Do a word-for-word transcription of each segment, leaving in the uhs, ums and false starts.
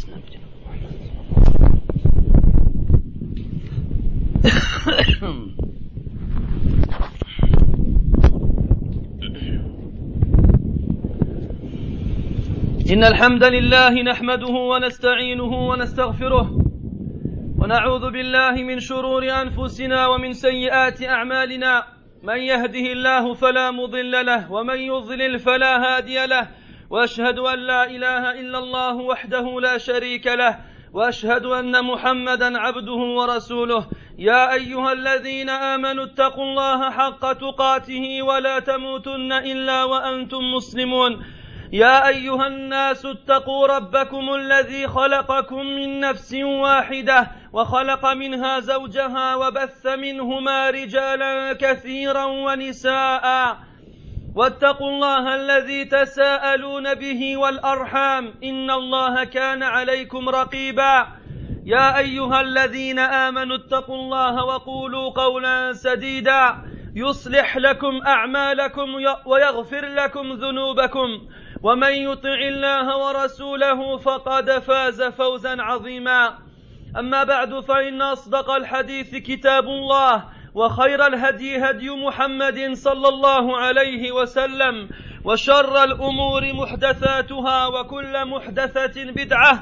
إن الحمد لله نحمده ونستعينه ونستغفره ونعوذ بالله من شرور أنفسنا ومن سيئات أعمالنا. من يهده الله فلا مضل له ومن يضلل فلا هادي له، وأشهد أن لا إله إلا الله وحده لا شريك له، وأشهد أن محمدا عبده ورسوله. يا أيها الذين آمنوا اتقوا الله حق تقاته ولا تموتن إلا وأنتم مسلمون. يا أيها الناس اتقوا ربكم الذي خلقكم من نفس واحدة وخلق منها زوجها وبث منهما رجالا كثيرا ونساء، واتقوا الله الذي تساءلون به والأرحام إن الله كان عليكم رقيبا. يا أيها الذين آمنوا اتقوا الله وقولوا قولا سديدا يصلح لكم أعمالكم ويغفر لكم ذنوبكم، ومن يطع الله ورسوله فقد فاز فوزا عظيما. أما بعد، فإن أصدق الحديث كتاب الله، وخير الهدي هدي محمد صلى الله عليه وسلم، وشر الأمور محدثاتها، وكل محدثة بدعة،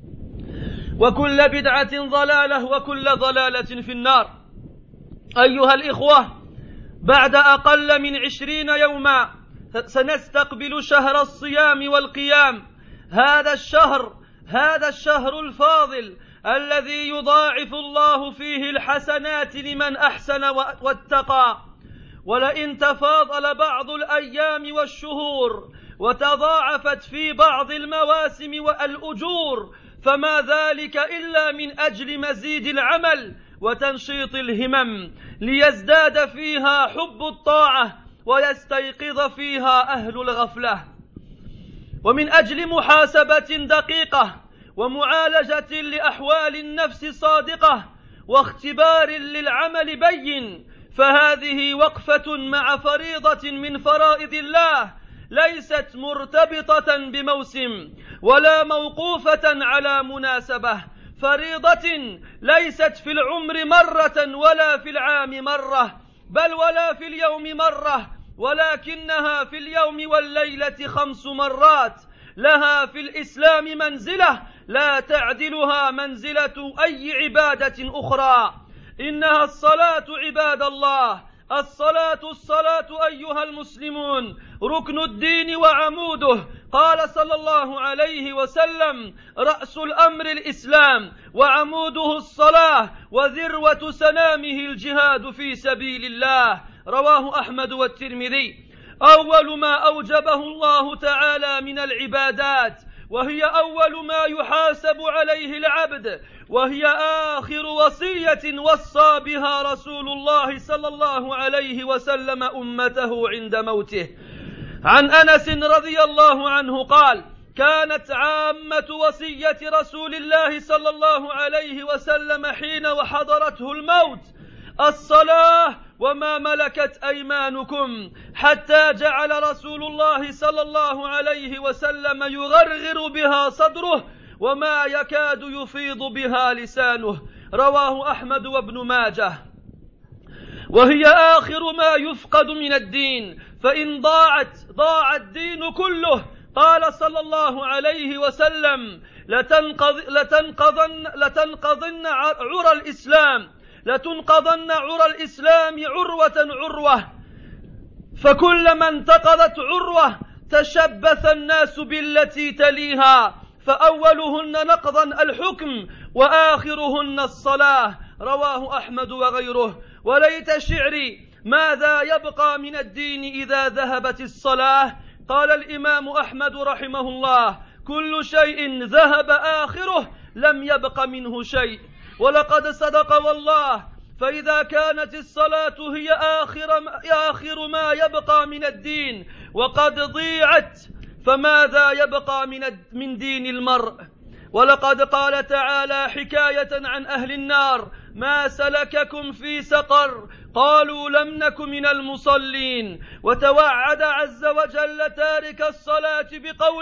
وكل بدعة ضلالة، وكل ضلالة في النار. أيها الإخوة، بعد أقل من عشرين يوما سنستقبل شهر الصيام والقيام. هذا الشهر هذا الشهر الفاضل الذي يضاعف الله فيه الحسنات لمن أحسن واتقى. ولئن تفاضل بعض الأيام والشهور وتضاعفت في بعض المواسم والأجور، فما ذلك إلا من أجل مزيد العمل وتنشيط الهمم، ليزداد فيها حب الطاعة ويستيقظ فيها أهل الغفلة. ومن أجل محاسبة دقيقة ومعالجة لأحوال النفس صادقة واختبار للعمل بين، فهذه وقفة مع فريضة من فرائض الله، ليست مرتبطة بموسم ولا موقوفة على مناسبة. فريضة ليست في العمر مرة ولا في العام مرة، بل ولا في اليوم مرة، ولكنها في اليوم والليلة خمس مرات. لها في الإسلام منزلة لا تعدلها منزلة أي عبادة أخرى. إنها الصلاة عباد الله. الصلاة الصلاة أيها المسلمون ركن الدين وعموده. قال صلى الله عليه وسلم: رأس الأمر الإسلام وعموده الصلاة وذروة سنامه الجهاد في سبيل الله. رواه أحمد والترمذي. أول ما أوجبه الله تعالى من العبادات، وهي أول ما يحاسب عليه العبد، وهي آخر وصية وصى بها رسول الله صلى الله عليه وسلم أمته عند موته. عن أنس رضي الله عنه قال: كانت عامة وصية رسول الله صلى الله عليه وسلم حين وحضرته الموت الصلاة وما ملكت أيمانكم، حتى جعل رسول الله صلى الله عليه وسلم يغرغر بها صدره وما يكاد يفيض بها لسانه. رواه أحمد وابن ماجه. وهي آخر ما يفقد من الدين، فإن ضاعت ضاع الدين كله. قال صلى الله عليه وسلم: لتنقض لتنقضن لتنقضن عرى الإسلام لتنقضن عرى الإسلام عروة عروة، فكلما انتقضت عروة تشبث الناس بالتي تليها، فأولهن نقضا الحكم وآخرهن الصلاة. رواه أحمد وغيره. وليت شعري ماذا يبقى من الدين إذا ذهبت الصلاة؟ قال الإمام أحمد رحمه الله: كل شيء ذهب آخره لم يبق منه شيء. ولقد صدق والله، فإذا كانت الصلاة هي آخر آخر ما يبقى من الدين وقد ضيعت، فماذا يبقى من من دين المرء؟ ولقد قال تعالى حكاية عن أهل النار: ما سلككم في سقر؟ قالوا لم نك من المصلين. وتوعد عز وجل تارك الصلاة بقوله: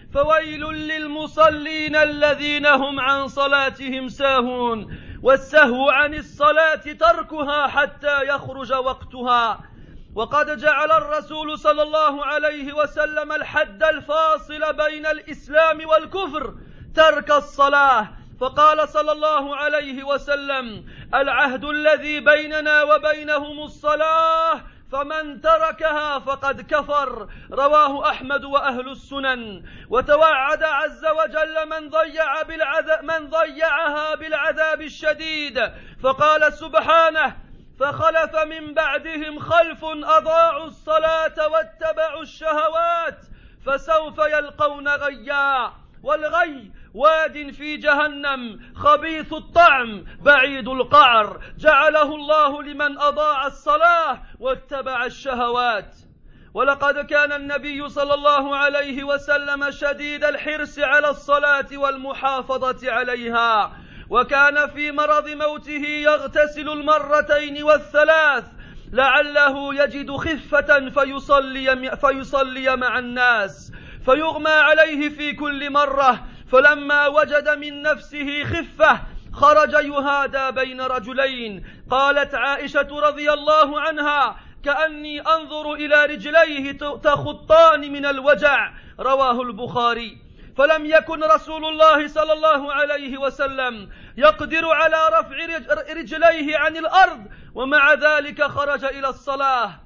فويل للمصلين الذين هم عن صلاتهم ساهون والسهو عن الصلاة تركها حتى يخرج وقتها. وقد جعل الرسول صلى الله عليه وسلم الحد الفاصل بين الإسلام والكفر ترك الصلاة، فقال صلى الله عليه وسلم: العهد الذي بيننا وبينهم الصلاة فمن تركها فقد كفر، رواه أحمد وأهل السنن. وتوعد عز وجل من ضيع بالعذاب من ضيعها بالعذاب الشديد، فقال سبحانه: فخلف من بعدهم خلف أضاعوا الصلاة واتبعوا الشهوات فسوف يلقون غيا. والغي واد في جهنم خبيث الطعم بعيد القعر، جعله الله لمن أضاع الصلاة واتبع الشهوات. ولقد كان النبي صلى الله عليه وسلم شديد الحرص على الصلاة والمحافظة عليها، وكان في مرض موته يغتسل المرتين والثلاث لعله يجد خفة فيصلي, فيصلي مع الناس، فيغمى عليه في كل مرة، فلما وجد من نفسه خفة خرج يهادى بين رجلين. قالت عائشة رضي الله عنها: كأني أنظر إلى رجليه تخطان من الوجع، رواه البخاري. فلم يكن رسول الله صلى الله عليه وسلم يقدر على رفع رجليه عن الأرض، ومع ذلك خرج إلى الصلاة.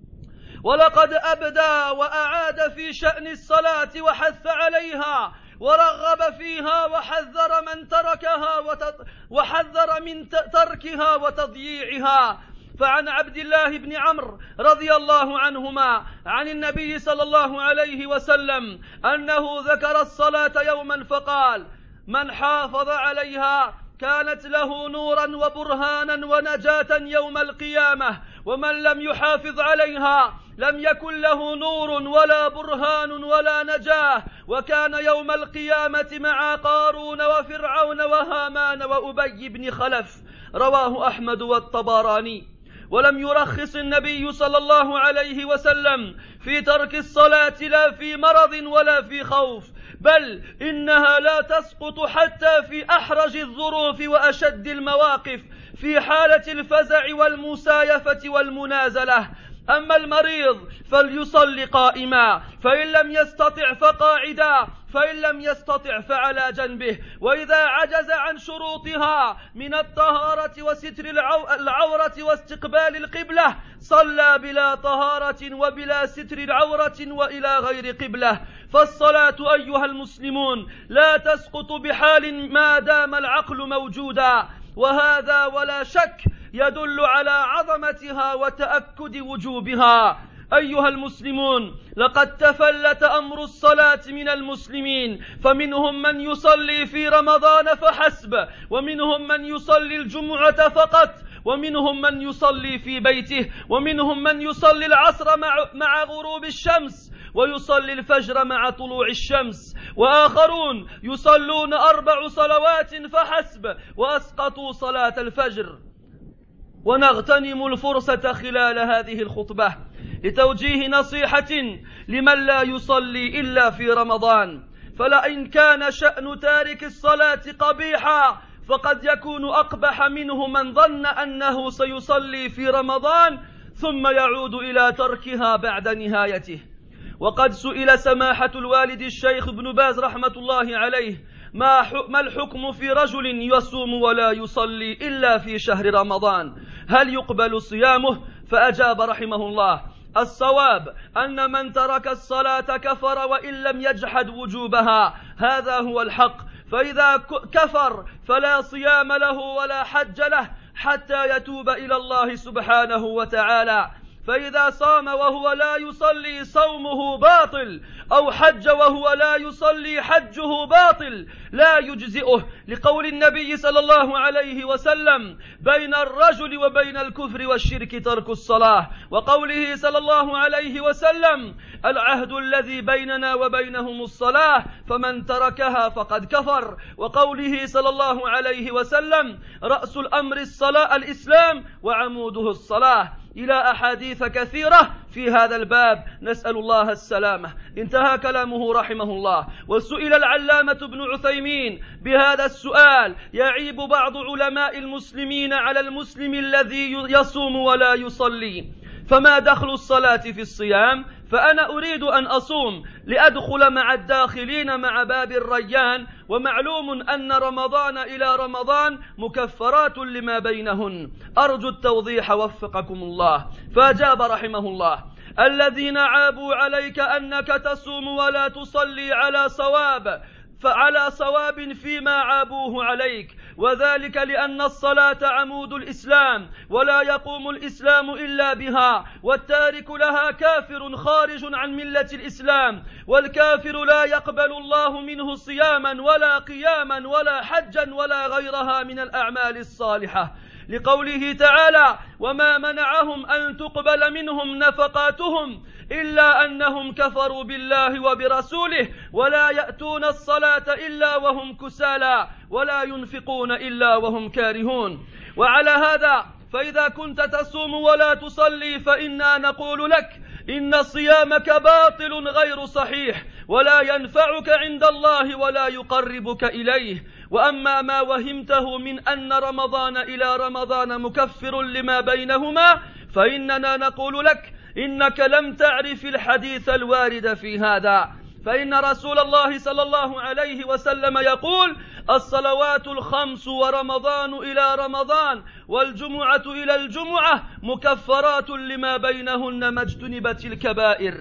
ولقد أبدى وأعاد في شأن الصلاة وحث عليها ورغب فيها وحذر من تركها وحذر من تركها وتضييعها. فعن عبد الله بن عمرو رضي الله عنهما عن النبي صلى الله عليه وسلم أنه ذكر الصلاة يوما فقال: من حافظ عليها كانت له نورا وبرهانا ونجاة يوم القيامة، ومن لم يحافظ عليها لم يكن له نور ولا برهان ولا نجاة، وكان يوم القيامة مع قارون وفرعون وهامان وأبي بن خلف، رواه أحمد والطبراني. ولم يرخص النبي صلى الله عليه وسلم في ترك الصلاة لا في مرض ولا في خوف، بل إنها لا تسقط حتى في أحرج الظروف وأشد المواقف، في حالة الفزع والمسايفة والمنازلة. أما المريض فليصلي قائما، فإن لم يستطع فقاعدا، فإن لم يستطع فعلى جنبه. وإذا عجز عن شروطها من الطهارة وستر العورة واستقبال القبلة صلى بلا طهارة وبلا ستر العورة وإلى غير قبلة. فالصلاة أيها المسلمون لا تسقط بحال ما دام العقل موجودا، وهذا ولا شك يدل على عظمتها وتأكد وجوبها. أيها المسلمون، لقد تفلت أمر الصلاة من المسلمين، فمنهم من يصلي في رمضان فحسب، ومنهم من يصلي الجمعة فقط، ومنهم من يصلي في بيته، ومنهم من يصلي العصر مع, مع غروب الشمس، ويصلي الفجر مع طلوع الشمس، وآخرون يصلون أربع صلوات فحسب وأسقطوا صلاة الفجر. ونغتنم الفرصة خلال هذه الخطبة لتوجيه نصيحة لمن لا يصلي إلا في رمضان. فلئن كان شأن تارك الصلاة قبيحا فقد يكون أقبح منه من ظن أنه سيصلي في رمضان ثم يعود إلى تركها بعد نهايته. وقد سئل سماحة الوالد الشيخ ابن باز رحمة الله عليه: ما الحكم في رجل يصوم ولا يصلي إلا في شهر رمضان، هل يقبل صيامه؟ فأجاب رحمه الله: الصواب أن من ترك الصلاة كفر وإن لم يجحد وجوبها، هذا هو الحق. فإذا كفر فلا صيام له ولا حج له حتى يتوب إلى الله سبحانه وتعالى. فإذا صام وهو لا يصلي صومه باطل، أو حج وهو لا يصلي حجه باطل لا يجزئه، لقول النبي صلى الله عليه وسلم: بين الرجل وبين الكفر والشرك ترك الصلاة، وقوله صلى الله عليه وسلم: العهد الذي بيننا وبينهم الصلاة فمن تركها فقد كفر، وقوله صلى الله عليه وسلم: رأس الأمر الصلاة الإسلام وعموده الصلاة. إلى أحاديث كثيرة في هذا الباب نسأل الله السلامة. انتهى كلامه رحمه الله. وسئل العلامة ابن عثيمين بهذا السؤال: يعيب بعض علماء المسلمين على المسلم الذي يصوم ولا يصلي، فما دخل الصلاة في الصيام؟ فأنا أريد أن أصوم لأدخل مع الداخلين مع باب الريان، ومعلوم أن رمضان إلى رمضان مكفرات لما بينهن. أرجو التوضيح وفقكم الله. فأجاب رحمه الله: الذين عابوا عليك أنك تصوم ولا تصلي على صواب فعلى صواب فيما عابوه عليك، وذلك لأن الصلاة عمود الإسلام، ولا يقوم الإسلام إلا بها، والتارك لها كافر خارج عن ملة الإسلام، والكافر لا يقبل الله منه صياما ولا قياما ولا حجا ولا غيرها من الأعمال الصالحة، لقوله تعالى: وما منعهم أن تقبل منهم نفقاتهم إلا أنهم كفروا بالله وبرسوله ولا يأتون الصلاة إلا وهم كسالى ولا ينفقون إلا وهم كارهون. وعلى هذا فإذا كنت تصوم ولا تصلي فإنا نقول لك إن صيامك باطل غير صحيح، ولا ينفعك عند الله ولا يقربك إليه. وأما ما وهمته من أن رمضان إلى رمضان مكفر لما بينهما فإننا نقول لك إنك لم تعرف الحديث الوارد في هذا، فإن رسول الله صلى الله عليه وسلم يقول: الصلوات الخمس ورمضان إلى رمضان والجمعة إلى الجمعة مكفرات لما بينهن ما اجتنبت الكبائر.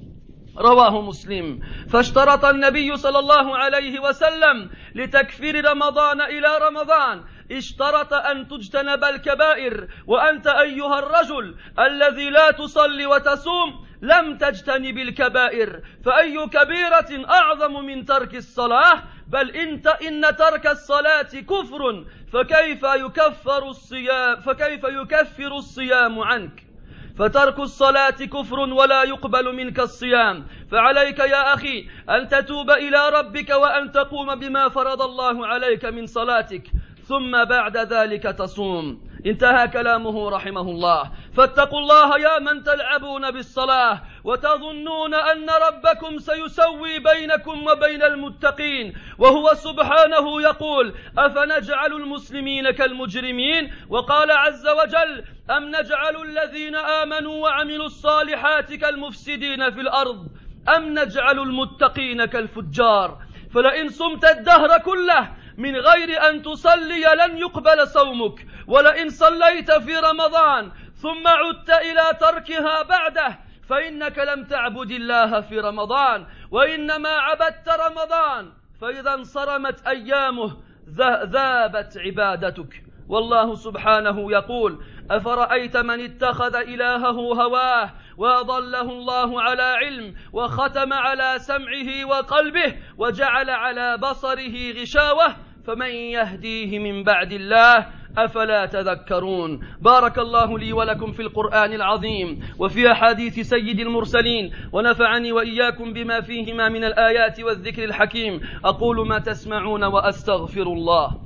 رواه مسلم. فاشترط النبي صلى الله عليه وسلم لتكفير رمضان إلى رمضان، اشترط أن تجتنب الكبائر. وأنت أيها الرجل الذي لا تصلي وتصوم لم تجتنب الكبائر، فأي كبيرة أعظم من ترك الصلاة؟ بل انت إن ترك الصلاة كفر، فكيف يكفر الصيام فكيف يكفر الصيام عنك؟ فترك الصلاة كفر ولا يقبل منك الصيام. فعليك يا أخي أن تتوب إلى ربك وأن تقوم بما فرض الله عليك من صلاتك، ثم بعد ذلك تصوم. انتهى كلامه رحمه الله. فاتقوا الله يا من تلعبون بالصلاة وتظنون أن ربكم سيسوي بينكم وبين المتقين، وهو سبحانه يقول: أفنجعل المسلمين كالمجرمين؟ وقال عز وجل: أم نجعل الذين آمنوا وعملوا الصالحات كالمفسدين في الأرض أم نجعل المتقين كالفجار؟ فلئن صمت الدهر كله من غير أن تصلي لن يقبل صومك، ولئن صليت في رمضان ثم عدت إلى تركها بعده فإنك لم تعبد الله في رمضان، وإنما عبدت رمضان، فإذا انصرمت أيامه ذابت عبادتك. والله سبحانه يقول: أفرأيت من اتخذ إلهه هواه وأضله الله على علم وختم على سمعه وقلبه وجعل على بصره غشاوة فمن يهديه من بعد الله أفلا تذكرون. بارك الله لي ولكم في القرآن العظيم وفي أحاديث سيد المرسلين، ونفعني وإياكم بما فيهما من الآيات والذكر الحكيم. أقول ما تسمعون وأستغفر الله.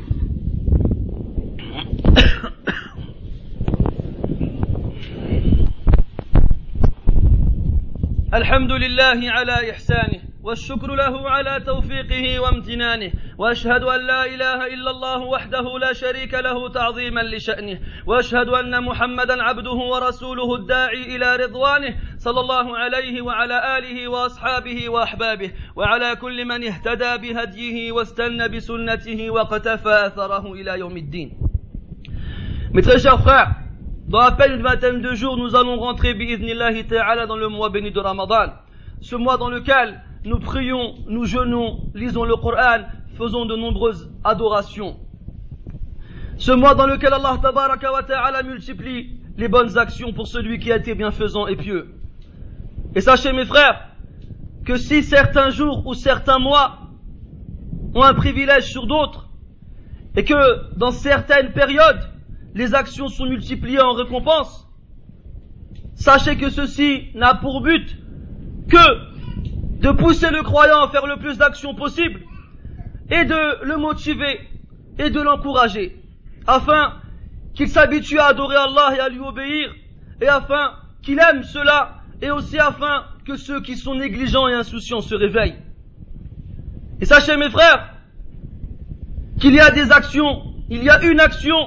الحمد لله على إحسانه، والشكر له على توفيقه وامتنانه، وأشهد أن لا إله إلا الله وحده لا شريك له تعظيما لشأنه، وأشهد أن محمدا عبده ورسوله الداعي إلى رضوانه صلى الله عليه وعلى آله وأصحابه وأحبابه وعلى كل من اهتدى بهديه واستنى بسنته واقتفى أثره إلى يوم الدين. Mes très chers frères, dans à peine une vingtaine de jours, nous allons rentrer bi'idhnillahi ta'ala dans le mois béni de Ramadan, ce mois dans lequel nous prions, nous jeûnons, lisons le Coran, faisons de nombreuses adorations. Ce mois dans lequel Allah tabaraka wa ta'ala multiplie les bonnes actions pour celui qui a été bienfaisant et pieux. Et sachez mes frères, que si certains jours ou certains mois ont un privilège sur d'autres, et que dans certaines périodes, les actions sont multipliées en récompense, sachez que ceci n'a pour but que de pousser le croyant à faire le plus d'actions possible et de le motiver et de l'encourager afin qu'il s'habitue à adorer Allah et à lui obéir et afin qu'il aime cela, et aussi afin que ceux qui sont négligents et insouciants se réveillent. Et sachez mes frères, qu'il y a des actions, il y a une action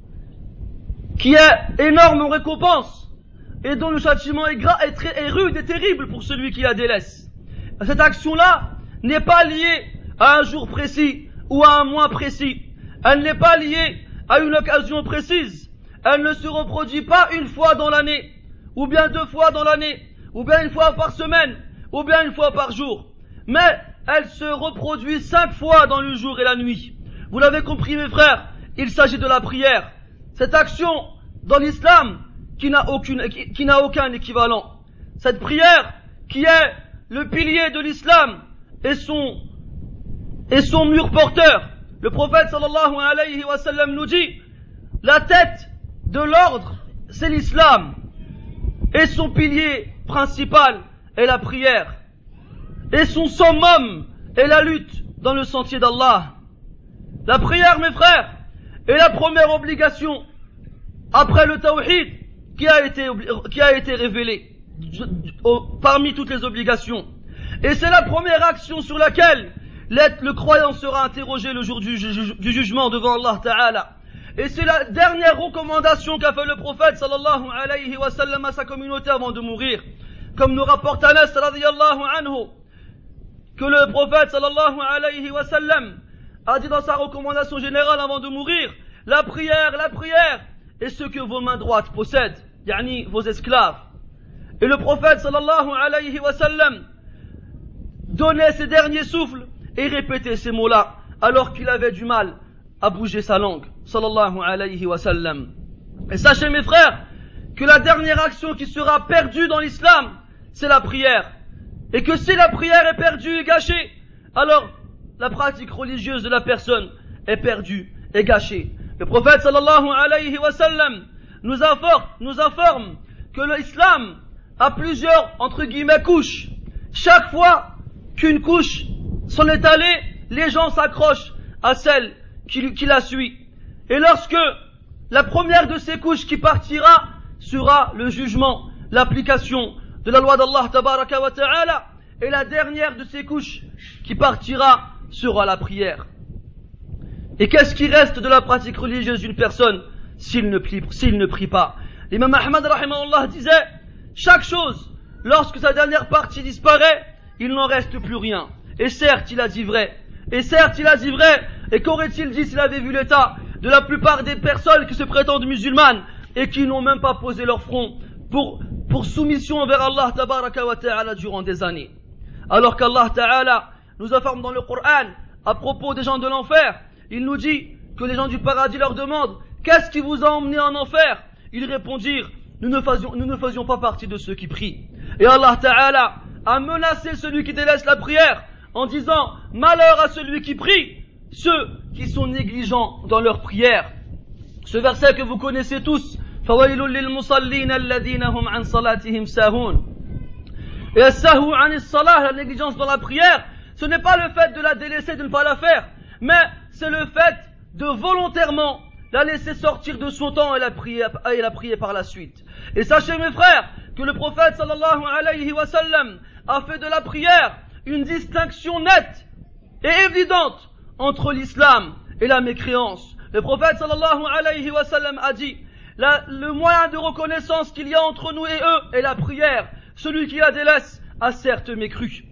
qui est énorme en récompense, et dont le châtiment est, gras, est, très, est rude et terrible pour celui qui la délaisse. Cette action-là n'est pas liée à un jour précis ou à un mois précis. Elle n'est pas liée à une occasion précise. Elle ne se reproduit pas une fois dans l'année, ou bien deux fois dans l'année, ou bien une fois par semaine, ou bien une fois par jour. Mais elle se reproduit cinq fois dans le jour et la nuit. Vous l'avez compris mes frères, il s'agit de la prière. Cette action dans l'islam qui n'a aucune, qui, qui n'a aucun équivalent. Cette prière qui est le pilier de l'islam et son, et son mur porteur. Le prophète sallallahu alayhi wa sallam nous dit, la tête de l'ordre, c'est l'islam. Et son pilier principal est la prière. Et son summum est la lutte dans le sentier d'Allah. La prière, mes frères, est la première obligation après le tawhid qui a été, qui a été révélée parmi toutes les obligations. Et c'est la première action sur laquelle le croyant sera interrogé le jour du, ju- du jugement devant Allah Ta'ala. Et c'est la dernière recommandation qu'a fait le prophète sallallahu alayhi wa sallam à sa communauté avant de mourir. Comme nous rapporte Anas radiyallahu anhu, que le prophète sallallahu alayhi wa sallam a dit dans sa recommandation générale avant de mourir, la prière, la prière est ce que vos mains droites possèdent, yani vos esclaves. Et le prophète sallallahu alayhi wa sallam donnait ses derniers souffles et répétait ces mots-là alors qu'il avait du mal à bouger sa langue, sallallahu alayhi wa sallam. Et sachez mes frères que la dernière action qui sera perdue dans l'islam, c'est la prière. Et que si la prière est perdue et gâchée, alors la pratique religieuse de la personne est perdue et gâchée. Le prophète sallallahu alayhi wa sallam nous informe, nous informe que l'islam a plusieurs, entre guillemets, couches. Chaque fois qu'une couche s'en est allée, les gens s'accrochent à celle qui, qui la suit. Et lorsque la première de ces couches qui partira sera le jugement, l'application de la loi d'Allah tabaraka wa ta'ala, et la dernière de ces couches qui partira sera la prière. Et qu'est-ce qui reste de la pratique religieuse d'une personne s'il ne prie, s'il ne prie pas? L'imam Ahmad rahimahullah disait, chaque chose, lorsque sa dernière partie disparaît, il n'en reste plus rien. Et certes, il a dit vrai. Et certes, il a dit vrai. Et qu'aurait-il dit s'il avait vu l'état de la plupart des personnes qui se prétendent musulmanes et qui n'ont même pas posé leur front pour, pour soumission envers Allah tabaraka wa ta'ala durant des années? Alors qu'Allah ta'ala nous informe dans le Coran à propos des gens de l'enfer, il nous dit que les gens du paradis leur demandent, qu'est-ce qui vous a emmené en enfer? Ils répondirent, nous ne faisions, nous ne faisions pas partie de ceux qui prient. Et Allah ta'ala a menacé celui qui délaisse la prière en disant, malheur à celui qui prie, ceux qui sont négligents dans leur prière. Ce verset que vous connaissez tous, فَوَيْلٌ لِلْمُصَلِّينَ الَّذِينَ هُمْ عَنْ صَلَاتِهِمْ سَاهُونَ. Et as-sahu an as-salah, la négligence dans la prière, ce n'est pas le fait de la délaisser, de ne pas la faire, mais c'est le fait de volontairement la laisser sortir de son temps et la prier, et la prier par la suite. Et sachez mes frères, que le prophète sallallahu alayhi wa sallam a fait de la prière une distinction nette et évidente entre l'islam et la mécréance. Le prophète sallallahu alayhi wa sallam a dit, la, le moyen de reconnaissance qu'il y a entre nous et eux est la prière. Celui qui la délaisse a certes mécru.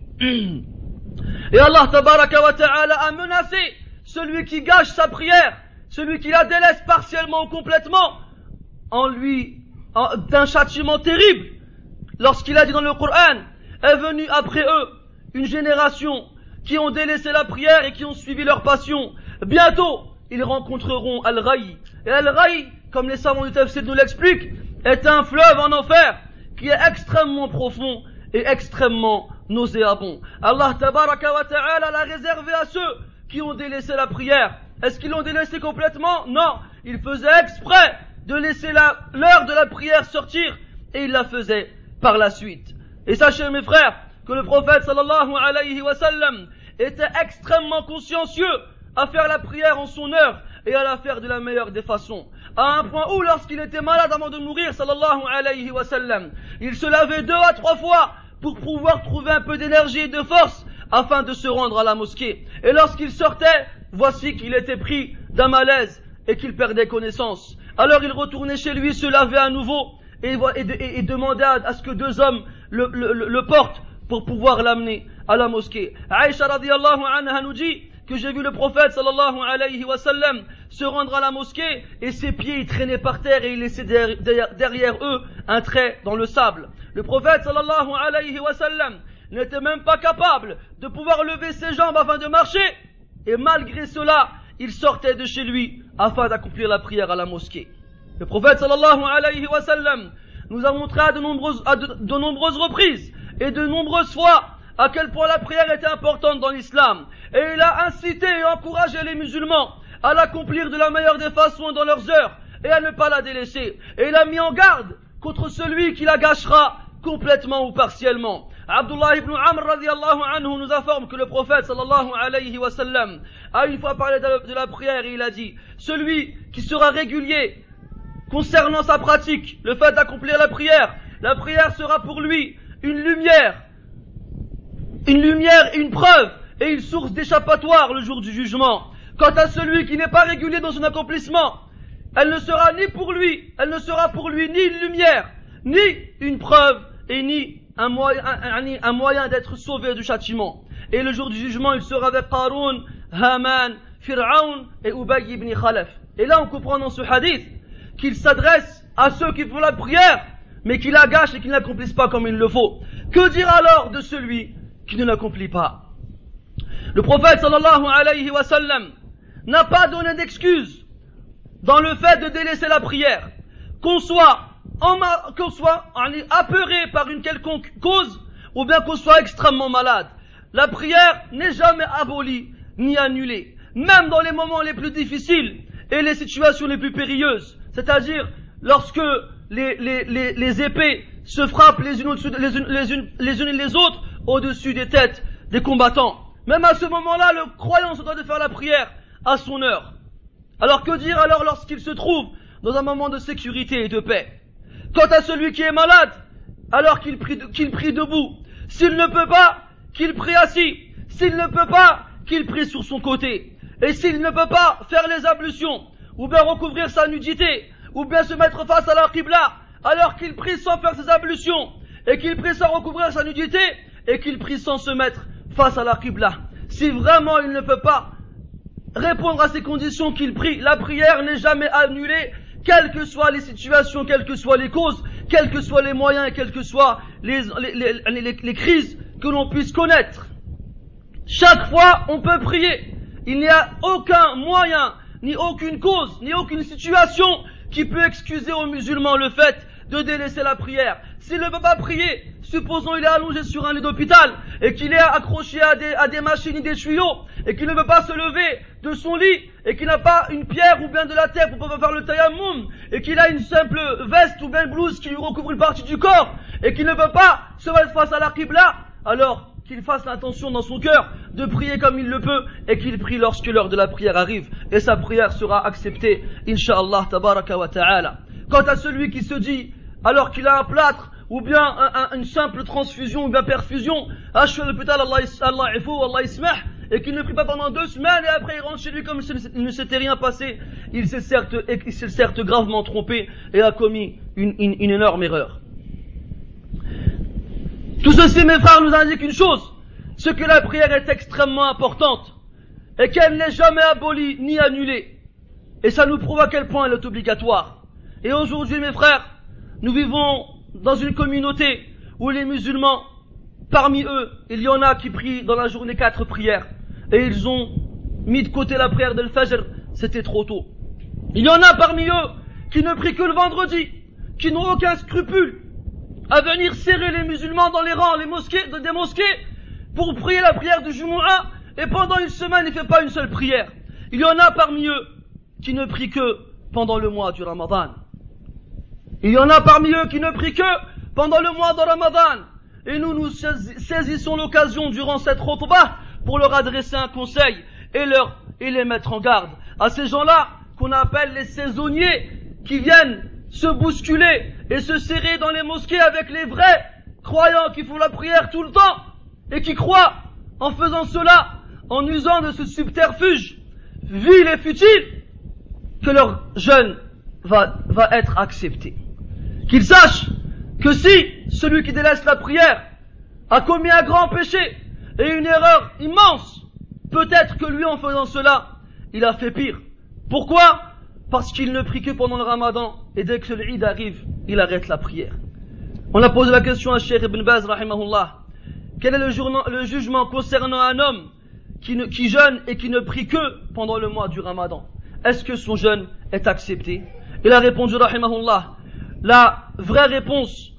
Et Allah tabaraka wa ta'ala a menacé celui qui gâche sa prière, celui qui la délaisse partiellement ou complètement, en lui, en, d'un châtiment terrible. Lorsqu'il a dit dans le Coran, est venue après eux une génération qui ont délaissé la prière et qui ont suivi leur passion. Bientôt, ils rencontreront Al-Ghayy. Et Al-Ghayy, comme les savants du Tafsir nous l'expliquent, est un fleuve en enfer qui est extrêmement profond et extrêmement nauséabond. Allah tabaraka wa ta'ala l'a réservé à ceux qui ont délaissé la prière. Est-ce qu'ils l'ont délaissé complètement? Non. Ils faisaient exprès de laisser la, l'heure de la prière sortir et ils la faisaient par la suite. Et sachez mes frères que le prophète sallallahu alayhi wa sallam était extrêmement consciencieux à faire la prière en son heure, et à la faire de la meilleure des façons. À un point où, lorsqu'il était malade avant de mourir, sallallahu alayhi wa sallam, il se lavait deux à trois fois pour pouvoir trouver un peu d'énergie et de force afin de se rendre à la mosquée. Et lorsqu'il sortait, voici qu'il était pris d'un malaise et qu'il perdait connaissance. Alors il retournait chez lui, se lavait à nouveau et, et, et, et demandait à, à ce que deux hommes le, le, le, le portent pour pouvoir l'amener à la mosquée. Aïcha radiyallahu anha nous dit que j'ai vu le prophète sallallahu alayhi wa sallam se rendre à la mosquée et ses pieds y traînaient par terre et il laissait derrière, derrière eux un trait dans le sable. Le prophète sallallahu alayhi wa sallam n'était même pas capable de pouvoir lever ses jambes afin de marcher et malgré cela il sortait de chez lui afin d'accomplir la prière à la mosquée. Le prophète sallallahu alayhi wa sallam nous a montré à de nombreuses, à de, de nombreuses reprises et de nombreuses fois à quel point la prière était importante dans l'islam. Et il a incité et encouragé les musulmans à l'accomplir de la meilleure des façons dans leurs heures et à ne pas la délaisser. Et il a mis en garde contre celui qui la gâchera complètement ou partiellement. Abdullah ibn Amr radiyallahu anhu nous informe que le prophète sallallahu alayhi wa sallam a une fois parlé de la prière et il a dit: celui qui sera régulier concernant sa pratique, le fait d'accomplir la prière, la prière sera pour lui une lumière, une lumière et une preuve et une source d'échappatoire le jour du jugement. Quant à celui qui n'est pas régulier dans son accomplissement, elle ne sera ni pour lui, elle ne sera pour lui ni une lumière, ni une preuve et ni un moyen, un, un moyen d'être sauvé du châtiment. Et le jour du jugement, il sera avec Qarun, Haman, Fir'aun et Ubay ibn Khalaf. Et là, on comprend dans ce hadith qu'il s'adresse à ceux qui font la prière, mais qui la gâchent et qui ne l'accomplissent pas comme il le faut. Que dire alors de celui qui ne l'accomplit pas? Le prophète sallallahu alayhi wa sallam n'a pas donné d'excuse dans le fait de délaisser la prière. Qu'on soit, en ma, qu'on soit apeuré par une quelconque cause, ou bien qu'on soit extrêmement malade. La prière n'est jamais abolie, ni annulée. Même dans les moments les plus difficiles et les situations les plus périlleuses. C'est-à-dire, lorsque les, les, les, les épées se frappent les unes, les, unes, les, unes, les unes et les autres au-dessus des têtes des combattants. Même à ce moment-là, le croyant se doit de faire la prière à son heure. Alors que dire alors lorsqu'il se trouve dans un moment de sécurité et de paix? Quant à celui qui est malade, alors qu'il prie, qu'il prie debout. S'il ne peut pas, qu'il prie assis. S'il ne peut pas, qu'il prie sur son côté. Et s'il ne peut pas faire les ablutions, ou bien recouvrir sa nudité, ou bien se mettre face à la qibla, alors qu'il prie sans faire ses ablutions, et qu'il prie sans recouvrir sa nudité, et qu'il prie sans se mettre face à la qibla. Si vraiment il ne peut pas répondre à ces conditions qu'il prie, la prière n'est jamais annulée, quelles que soient les situations, quelles que soient les causes, quels que soient les moyens et quelles que soient les, les, les, les, les crises que l'on puisse connaître. Chaque fois, on peut prier. Il n'y a aucun moyen, ni aucune cause, ni aucune situation qui peut excuser aux musulmans le fait de délaisser la prière. S'il ne peut pas prier, supposons il est allongé sur un lit d'hôpital et qu'il est accroché à des, à des machines et des tuyaux et qu'il ne peut pas se lever de son lit et qu'il n'a pas une pierre ou bien de la terre pour pouvoir faire le tayammum et qu'il a une simple veste ou bien une blouse qui lui recouvre une partie du corps et qu'il ne peut pas se mettre face à la qibla, alors qu'il fasse l'intention dans son cœur de prier comme il le peut et qu'il prie lorsque l'heure de la prière arrive et sa prière sera acceptée, incha'Allah tabaraka wa ta'ala. Quant à celui qui se dit, alors qu'il a un plâtre ou bien un, un, une simple transfusion ou bien perfusion, achou l'hôpital, Allah ifou, Allah ismah, et qu'il ne prie pas pendant deux semaines et après il rentre chez lui comme s'il ne s'était rien passé, il s'est certes, il s'est certes gravement trompé et a commis une, une, une énorme erreur. Tout ceci, mes frères, nous indique une chose, c'est que la prière est extrêmement importante et qu'elle n'est jamais abolie ni annulée. Et ça nous prouve à quel point elle est obligatoire. Et aujourd'hui, mes frères, nous vivons dans une communauté où les musulmans, parmi eux, il y en a qui prient dans la journée quatre prières et ils ont mis de côté la prière de l'Fajr, c'était trop tôt. Il y en a parmi eux qui ne prient que le vendredi, qui n'ont aucun scrupule à venir serrer les musulmans dans les rangs, les mosquées, des mosquées, pour prier la prière du Jumu'ah, et pendant une semaine, il ne fait pas une seule prière. Il y en a parmi eux qui ne prient que pendant le mois du Ramadan. Il y en a parmi eux qui ne prient que pendant le mois de Ramadan. Et nous, nous saisissons l'occasion durant cette khutbah pour leur adresser un conseil et leur, et les mettre en garde. à ces gens-là qu'on appelle les saisonniers, qui viennent se bousculer et se serrer dans les mosquées avec les vrais croyants qui font la prière tout le temps et qui croient en faisant cela, en usant de ce subterfuge vil et futile, que leur jeûne va, va être accepté. Qu'ils sachent que si celui qui délaisse la prière a commis un grand péché et une erreur immense, peut-être que lui, en faisant cela, il a fait pire. Pourquoi? Parce qu'il ne prie que pendant le ramadan, et dès que l'Eid arrive, il arrête la prière. On a posé la question à Cheikh Ibn Baz, rahimahullah. Quel est le, journa- le jugement concernant un homme qui, ne, qui jeûne et qui ne prie que pendant le mois du ramadan? Est-ce que son jeûne est accepté? Il a répondu, rahimahullah, la vraie réponse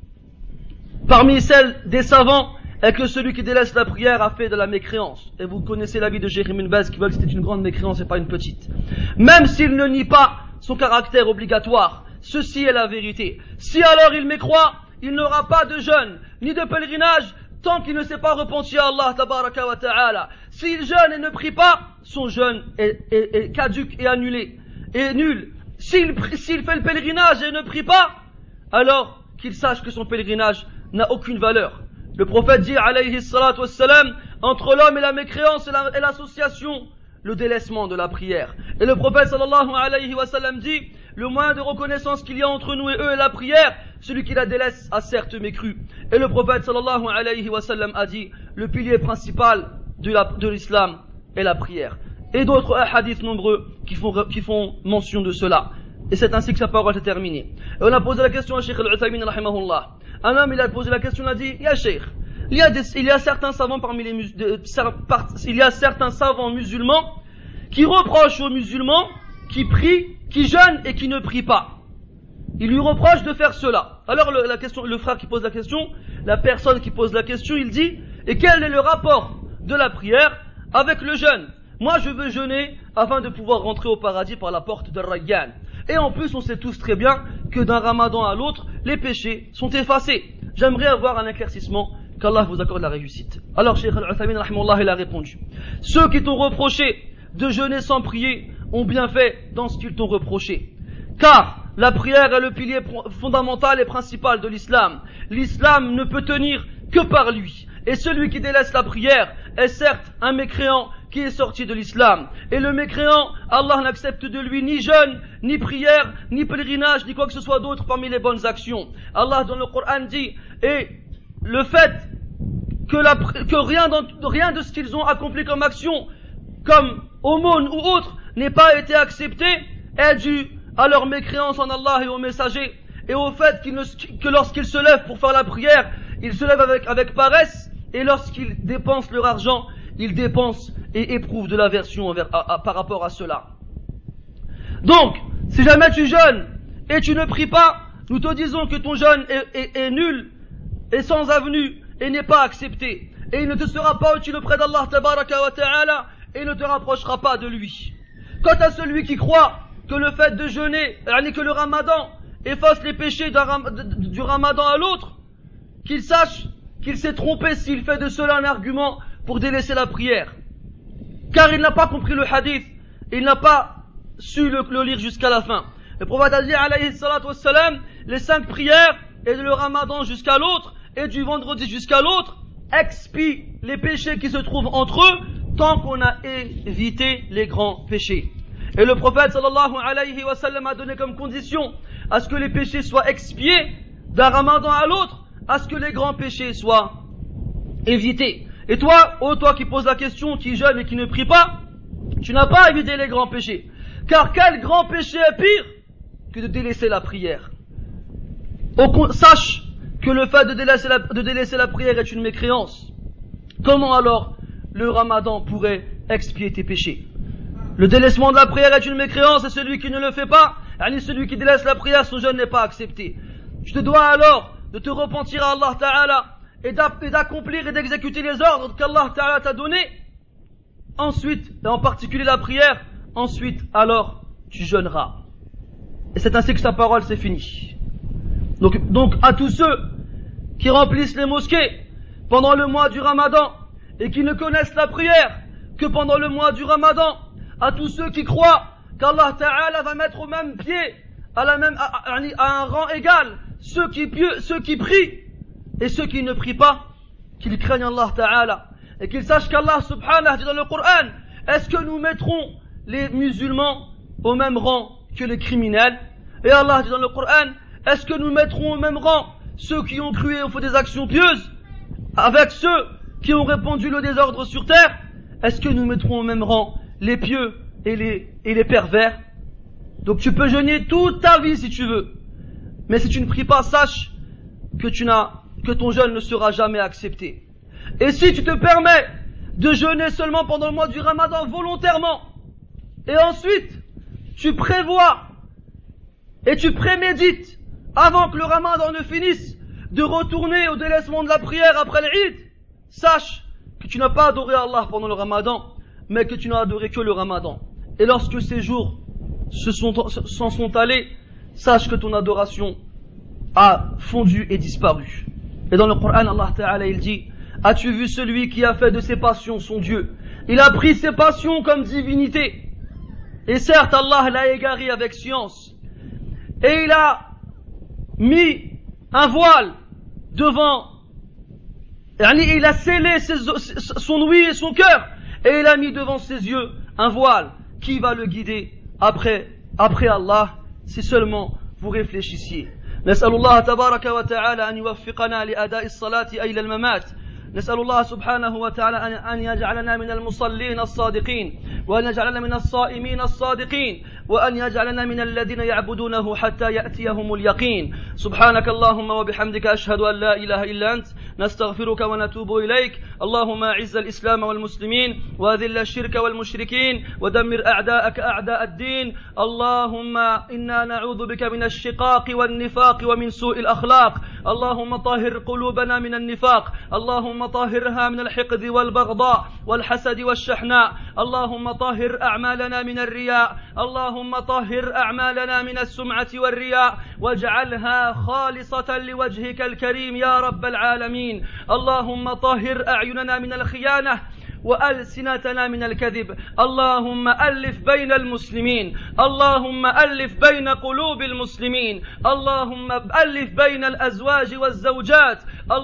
parmi celles des savants est que celui qui délaisse la prière a fait de la mécréance. Et vous connaissez l'avis de Cheikh Ibn Baz qui veut que c'était une grande mécréance et pas une petite. Même s'il ne nie pas son caractère obligatoire, ceci est la vérité. Si alors il mécroit, il n'aura pas de jeûne, ni de pèlerinage, tant qu'il ne s'est pas repenti à Allah tabaraka wa ta'ala. S'il jeûne et ne prie pas, son jeûne est, est, est caduc et annulé, et nul. S'il, s'il fait le pèlerinage et ne prie pas, alors qu'il sache que son pèlerinage n'a aucune valeur. Le prophète dit, alayhi salatu wassalam, entre l'homme et la mécréance et, la, et l'association, le délaissement de la prière. Et le prophète sallallahu alayhi wa sallam dit, le moyen de reconnaissance qu'il y a entre nous et eux est la prière, celui qui la délaisse a certes mécru. Et le prophète sallallahu alayhi wa sallam a dit, le pilier principal de, la, de l'islam est la prière. Et d'autres hadiths nombreux qui font, qui font mention de cela. Et c'est ainsi que sa parole est terminée. Et on a posé la question à Cheikh Al-Uthaymin rahimahullah. Un homme, il a posé la question, il a dit, ya Cheikh, il y a des, il y a certains savants parmi les mus, de, part, il y a certains savants musulmans qui reprochent aux musulmans qui prient, qui jeûnent et qui ne prient pas. Ils lui reprochent de faire cela. Alors le, la question, le frère qui pose la question, la personne qui pose la question, il dit, et quel est le rapport de la prière avec le jeûne? Moi je veux jeûner afin de pouvoir rentrer au paradis par la porte de Rayyan. Et en plus on sait tous très bien que d'un ramadan à l'autre, les péchés sont effacés. J'aimerais avoir un éclaircissement, qu'Allah vous accorde la réussite. Alors Cheikh Al-Uthaymin rahimahullah il a répondu, ceux qui t'ont reproché de jeûner sans prier ont bien fait dans ce qu'ils t'ont reproché. Car la prière est le pilier fondamental et principal de l'islam. L'islam ne peut tenir que par lui. Et celui qui délaisse la prière est certes un mécréant qui est sorti de l'islam. Et le mécréant, Allah n'accepte de lui ni jeûne, ni prière, ni pèlerinage, ni quoi que ce soit d'autre parmi les bonnes actions. Allah dans le Coran dit, et le fait que, la, que rien, dans, rien de ce qu'ils ont accompli comme action, comme aumône ou autre, n'ait pas été accepté, est dû à leur mécréance en Allah et au messager, et au fait qu'ils ne, que lorsqu'ils se lèvent pour faire la prière, ils se lèvent avec, avec paresse, et lorsqu'ils dépensent leur argent, ils dépensent et éprouvent de l'aversion envers, à, à, par rapport à cela. Donc, si jamais tu jeûnes et tu ne pries pas, nous te disons que ton jeûne est, est, est nul, et sans avenue, et n'est pas accepté. Et il ne te sera pas utile auprès d'Allah tabaraka wa ta'ala, et ne te rapprochera pas de lui. Quant à celui qui croit que le fait de jeûner, que le ramadan efface les péchés du ramadan à l'autre, qu'il sache qu'il s'est trompé s'il fait de cela un argument pour délaisser la prière. Car il n'a pas compris le hadith, il n'a pas su le, le lire jusqu'à la fin. Le prophète a dit, alayhi salatu wassalam, les cinq prières, et de le ramadan jusqu'à l'autre, et du vendredi jusqu'à l'autre, expient les péchés qui se trouvent entre eux, tant qu'on a évité les grands péchés. Et le prophète sallallahu alayhi wa sallam a donné comme condition à ce que les péchés soient expiés d'un ramadan à l'autre, à ce que les grands péchés soient évités. Et toi, oh toi qui poses la question, qui jeûne et qui ne prie pas, tu n'as pas évité les grands péchés. Car quel grand péché est pire que de délaisser la prière? Au, sache que le fait de délaisser, la, de délaisser la prière est une mécréance. Comment alors le ramadan pourrait expier tes péchés? Le délaissement de la prière est une mécréance, et celui qui ne le fait pas, yani celui qui délaisse la prière, son jeûne n'est pas accepté. Tu te dois alors de te repentir à Allah Ta'ala et d'accomplir et d'exécuter les ordres qu'Allah Ta'ala t'a donnés. Ensuite, et en particulier la prière, ensuite alors tu jeûneras. Et c'est ainsi que sa parole s'est finie. Donc, donc à tous ceux qui remplissent les mosquées pendant le mois du Ramadan et qui ne connaissent la prière que pendant le mois du Ramadan, à tous ceux qui croient qu'Allah Ta'ala va mettre au même pied, à, la même, à, à, à un rang égal, ceux qui, ceux qui prient et ceux qui ne prient pas, qu'ils craignent Allah Ta'ala et qu'ils sachent qu'Allah Subhanahu dit dans le Coran, est-ce que nous mettrons les musulmans au même rang que les criminels? Et Allah dit dans le Coran, est-ce que nous mettrons au même rang ceux qui ont cru et ont fait des actions pieuses avec ceux qui ont répandu le désordre sur terre? Est-ce que nous mettrons au même rang les pieux et les, et les pervers? Donc tu peux jeûner toute ta vie si tu veux, mais si tu ne pries pas, sache que tu n'as, que ton jeûne ne sera jamais accepté. Et si tu te permets de jeûner seulement pendant le mois du Ramadan volontairement, et ensuite tu prévois et tu prémédites avant que le Ramadan ne finisse de retourner au délaissement de la prière après l'Eid, sache que tu n'as pas adoré Allah pendant le Ramadan, mais que tu n'as adoré que le Ramadan. Et lorsque ces jours se sont, s'en sont allés, sache que ton adoration a fondu et disparu. Et dans le Coran, Allah Ta'ala il dit, as-tu vu celui qui a fait de ses passions son Dieu? Il a pris ses passions comme divinité. Et certes, Allah l'a égaré avec science. Et il a mis un voile devant, il a scellé ses, son ouïe et son cœur, et il a mis devant ses yeux un voile qui va le guider après, après Allah, si seulement vous réfléchissiez. نسأل الله تبارك وتعالى أن يوفقنا لأداء الصلاة إلى الممات. نسأل الله سبحانه وتعالى أن يجعلنا من المصلين الصادقين، وأن يجعلنا من الصائمين الصادقين، وأن يجعلنا من الذين يعبدونه حتى يأتيهم اليقين. سبحانك اللهم وبحمدك أشهد أن لا إله إلا أنت، نستغفرك ونتوب إليك. اللهم أعز الإسلام والمسلمين، وأذل الشرك والمشركين، ودمر أعداءك أعداء الدين. اللهم إنا نعوذ بك من الشقاق والنفاق ومن سوء الأخلاق. اللهم طهر قلوبنا من النفاق، اللهم طهرها من الحقد والبغضاء والحسد والشحناء. اللهم طهر أعمالنا من الرياء، اللهم طهر أعمالنا من السمعة والرياء، واجعلها خالصة لوجهك الكريم يا رب العالمين. اللهم طهر أعيننا من الخيانة وألسنتنا من الكذب. اللهم ألف بين المسلمين، اللهم ألف بين قلوب المسلمين، اللهم ألف بين الأزواج والزوجات،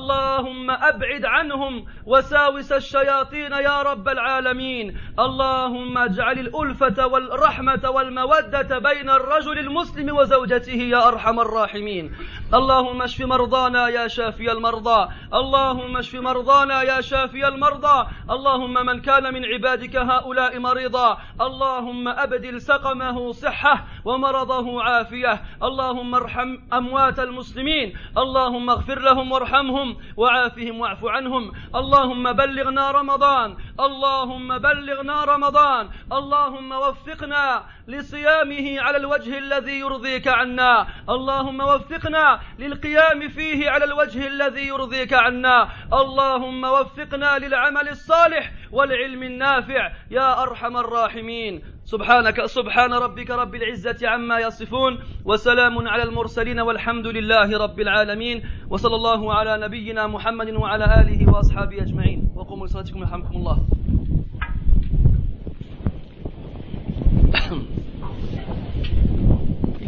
اللهم أبعد عنهم وساوس الشياطين يا رب العالمين. اللهم اجعل الألفة والرحمة والمودة بين الرجل المسلم وزوجته يا أرحم الراحمين. اللهم اشف مرضانا يا شافي المرضى، اللهم اشف مرضانا يا شافي المرضى. اللهم من كان من عبادك هؤلاء مريضا، اللهم أبدل سقمه صحة ومرضه عافية. اللهم ارحم أموات المسلمين، اللهم اغفر لهم وارحمهم وعافهم واعف عنهم. اللهم بلغنا رمضان، اللهم بلغنا رمضان، اللهم وفقنا لصيامه على الوجه الذي يرضيك عنا، اللهم وفقنا للقيام فيه على الوجه الذي يرضيك عنا. اللهم وفقنا للعمل الصالح والعلم النافع يا أرحم الراحمين. سبحانك سبحان ربك رب العزة عما يصفون، وسلام على المرسلين، والحمد لله رب العالمين. وصلى الله على نبينا محمد وعلى آله وأصحابه أجمعين. وقوموا لصلاتكم يرحمكم الله.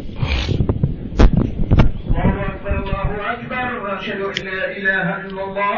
الله أكبر الله أكبر، وأشهد أن لا إله إلا الله.